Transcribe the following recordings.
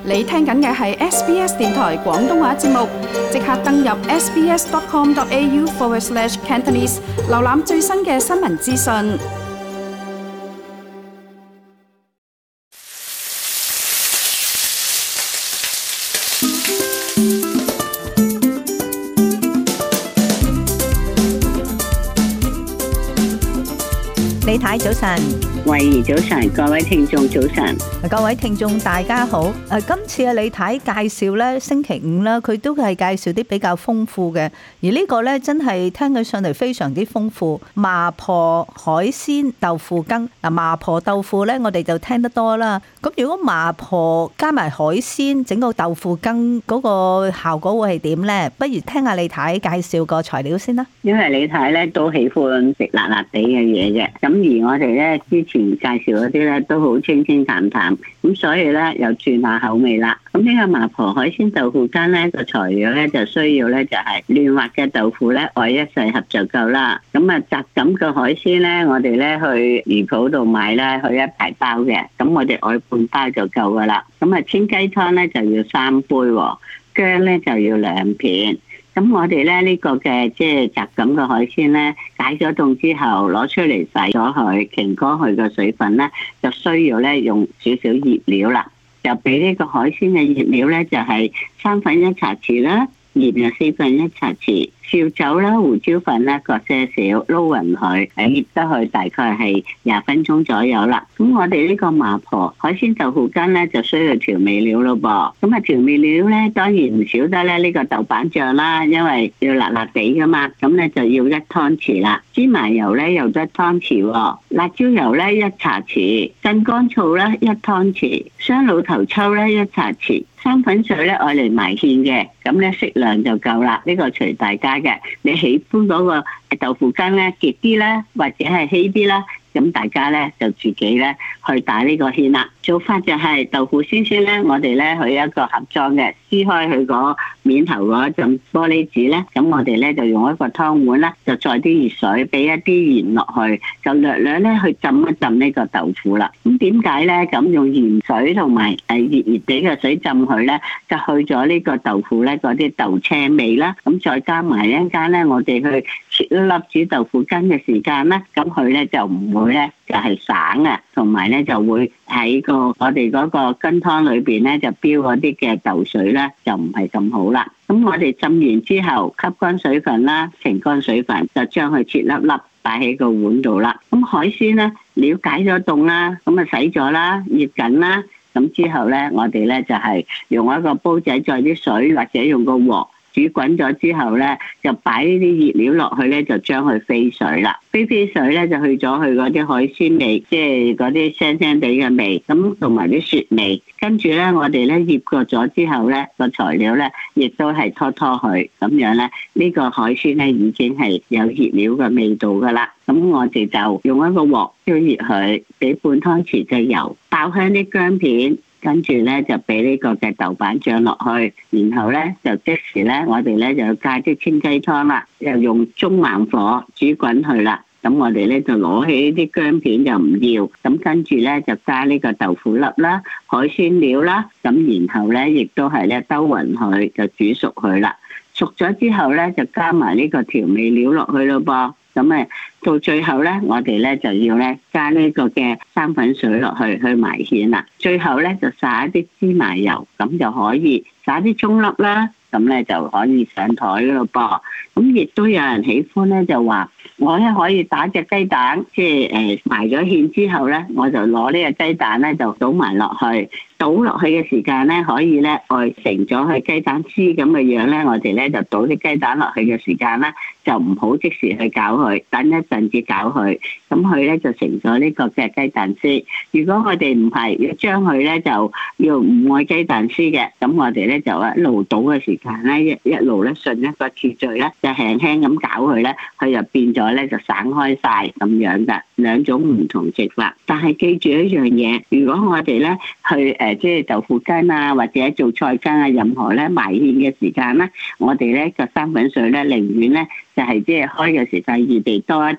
你聽緊嘅係 SBS 電台廣東話節目，即刻登入 sbs.com.au/Cantonese， 瀏覽最新嘅新聞資訊。 李太早晨， 慧兒早晨，各位聽眾早晨， 各位聽眾大家好。今次啊，李太介紹咧，星期五啦，佢都係介紹啲比較豐富嘅，而呢個咧真係聽起上嚟非常之豐富。麻婆海鮮豆腐羹嗱，麻婆豆腐咧，我哋就聽得多啦。咁如果麻婆加埋海鮮，整個豆腐羹嗰個效果會係點咧？不如聽下李太介紹個材料先啦。 因為李太咧都喜歡食辣辣地嘅嘢嘅，咁而我哋咧之前介紹嗰啲咧都好清清淡淡，咁所以咧又轉下口味啦。咁呢個麻婆海鮮豆腐羹咧個材料咧就需要咧就係嫩滑嘅豆腐咧愛一細盒就夠啦。咁啊雜錦嘅海鮮咧，我哋咧去魚鋪度買咧，去一大包嘅，咁我哋愛半包就夠噶啦。咁啊清雞湯咧就要3杯，薑咧就要2片。咁我哋咧呢個嘅即係雜錦嘅海鮮咧，解咗凍之後攞出嚟洗咗佢，擎乾佢嘅水分咧，就需要咧用少少醃料啦。就俾呢個海鮮嘅醃料咧，就係1/3茶匙啦，鹽就1/4茶匙，紹酒啦、胡椒粉啦各些少，撈勻佢，醃得佢大概係20分鐘左右啦。咁我哋呢個麻婆海鮮豆腐羹咧就需要調味料咯噃。咁啊調味料咧當然唔少得咧呢個豆瓣醬啦，因為要辣辣地噶嘛，咁咧就要1湯匙啦。芝麻油咧又1湯匙，辣椒油咧1茶匙，鎮乾醋咧1湯匙，雙老頭抽咧1茶匙。生粉水咧愛嚟埋芡嘅，咁咧適量就夠啦。呢個隨大家嘅，你喜歡嗰個豆腐羹咧結啲啦，或者係稀啲啦，咁大家咧就自己咧去打呢個芡啦。做法就係豆腐先咧，我哋咧去一個盒裝嘅，撕開佢嗰面頭嗰陣玻璃紙咧，咁我哋咧就用一個湯碗啦，就載啲熱水，俾一啲鹽落去，就略略咧去浸一浸呢個豆腐啦。咁點解咧咁用鹽水同埋熱熱地嘅水浸佢咧，就去咗呢個豆腐咧嗰啲豆青味啦。咁再加埋一陣間咧，我哋去切一粒煮豆腐羹嘅時間咧，咁佢咧就唔會咧就係省啊，同埋咧就會喺我哋嗰個羹湯裏邊咧就飆嗰啲嘅豆水咧就唔係咁好啦。咁我哋浸完之後吸乾水分啦，澄乾水分，就將佢切粒粒擺喺個碗度啦。咁海鮮咧了解咗凍啦，咁啊洗咗啦，醃緊啦。咁之後咧，我哋咧就係用一個煲仔載啲水，或者用個鑊煮滾咗之後咧，就擺呢啲熱料落去咧，就將佢飛水啦。飛水咧就去咗佢嗰啲海鮮味，即係嗰啲腥腥地嘅味，咁同埋啲雪味。跟住咧，我哋咧醃過咗之後咧，個材料咧亦都係拖佢，咁樣咧呢個海鮮咧已經係有熱料嘅味道噶啦。咁我哋就用一個鑊燒熱佢，俾半湯匙嘅油，爆香啲薑片。跟住咧就俾呢個嘅豆瓣醬落去，然後咧就即時咧我哋咧就要加啲清雞湯啦，又用中猛火煮滾佢啦。咁我哋咧就攞起啲薑片就唔要，咁跟住咧就加呢個豆腐粒啦、海鮮料啦，咁然後咧亦都係咧兜勻佢，就煮熟佢啦。熟咗之後咧就加埋呢個調味料落去咯噃。咁到最後咧，我哋咧就要咧加呢個嘅生粉水落去埋芡啦。最後咧就撒一啲芝麻油，咁就可以撒啲蔥粒啦，咁咧就可以上台咯噃。咁亦都有人喜歡咧，就話我咧可以打隻雞蛋，即係埋咗芡之後咧，我就攞呢個雞蛋咧就倒埋落去。倒落去嘅時間咧，可以咧愛成咗佢雞蛋絲咁嘅樣咧，我哋咧就倒啲雞蛋落去嘅時間咧，就唔好即時去攪佢，等一陣至攪佢，咁佢咧就成咗呢個嘅雞蛋絲。如果我哋唔係要將佢咧就要唔愛雞蛋絲嘅，咁我哋咧就一路倒嘅時間咧，一路咧順一個次序咧，就輕輕咁攪佢咧，佢就變咗咧就散開晒咁樣嘅兩種唔同食法。但係記住一樣嘢，如果我哋咧去即係豆腐羹啊，或者做菜羹啊，任何咧埋芡嘅時間咧，我哋咧個生粉水咧寧願咧就係即係開嘅時間預備多一啲，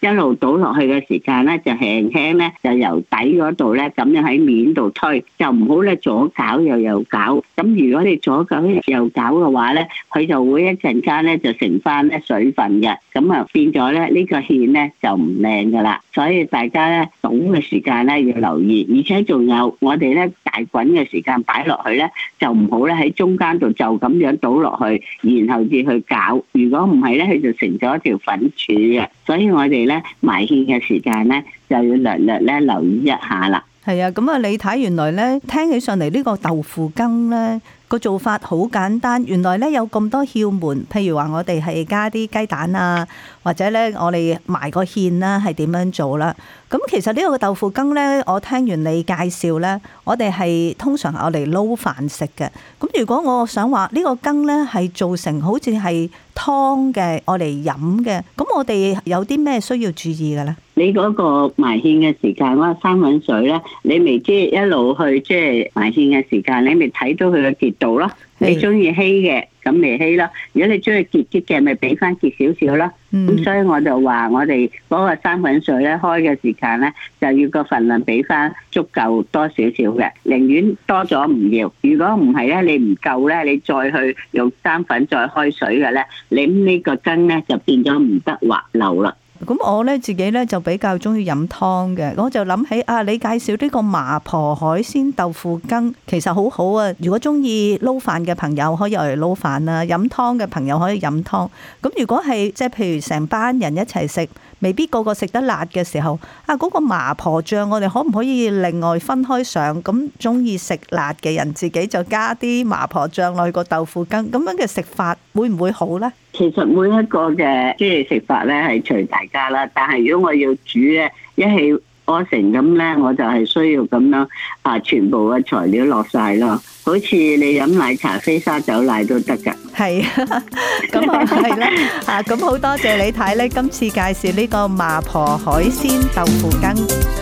一路倒落去嘅時間咧，就輕輕咧就由底嗰度咧咁樣喺面度推，就唔好咧左攪又右攪。咁如果你左攪右攪嘅話咧，佢就會一陣間咧就成翻咧水分嘅，咁啊變咗咧呢個芡咧就唔靚噶啦。所以大家咧倒嘅時間咧要留意，而且仲有我哋咧大滾嘅時間擺落去咧，就唔好咧喺中間度就咁樣倒落去，然後至去攪。如果唔係咧，佢就成咗一條粉柱嘅。所以我哋咧埋芡嘅時間咧就要略略咧留意一下啦。 係啊，咁啊，你睇原來咧聽起上嚟呢個豆腐羹咧個做法好簡單，原來咧有咁多竅門。譬如話我哋係加啲雞蛋啊，或者咧我哋埋個芡啦，係點樣做啦？咁其實呢個豆腐羹咧，我聽完你介紹咧，我哋係通常我嚟撈飯食嘅。咁如果我想話呢個羹咧係做成好似係湯嘅，我嚟飲嘅，咁我哋有啲咩需要注意嘅咧？ 你嗰個埋芡嘅時間，嗰個三粉水咧，你咪即係一路去即係埋芡嘅時間，你咪睇到佢嘅結度咯。你中意稀嘅，咁咪稀咯；如果你中意結啲嘅，咪俾翻結少少咯。咁所以我就話我哋嗰個三粉水咧開嘅時間咧，就要個份量俾翻足夠多少少嘅，寧願多咗唔要。如果唔係咧，你唔夠咧，你再去用三粉再開水嘅咧，你呢個羹咧就變咗唔得滑溜啦。 咁我咧自己咧就比較中意飲湯嘅，我就諗起啊，你介紹呢個麻婆海鮮豆腐羹其實好好啊！如果中意撈飯嘅朋友可以嚟撈飯啦，飲湯嘅朋友可以飲湯。咁如果係即係譬如成班人一齊食，未必個個食得辣嘅時候，啊嗰個麻婆醬我哋可唔可以另外分開上？咁中意食辣嘅人自己就加啲麻婆醬落去個豆腐羹，咁樣嘅食法會唔會好呢？ 其實每一個嘅即係食法咧係隨大家啦，但係如果我要煮咧一氣呵成咁咧，我就係需要咁樣全部嘅材料落晒咯，好似你飲奶茶飛沙走奶都得㗎。 係咁啊，係啦咁好多謝你睇咧，今次介紹呢個麻婆海鮮豆腐羹。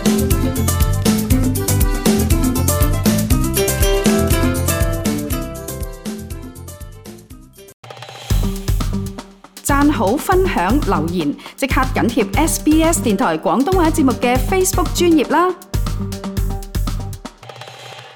讚好、分享、留言，即刻緊貼SBS 電台廣東話節目嘅 Facebook 專頁啦！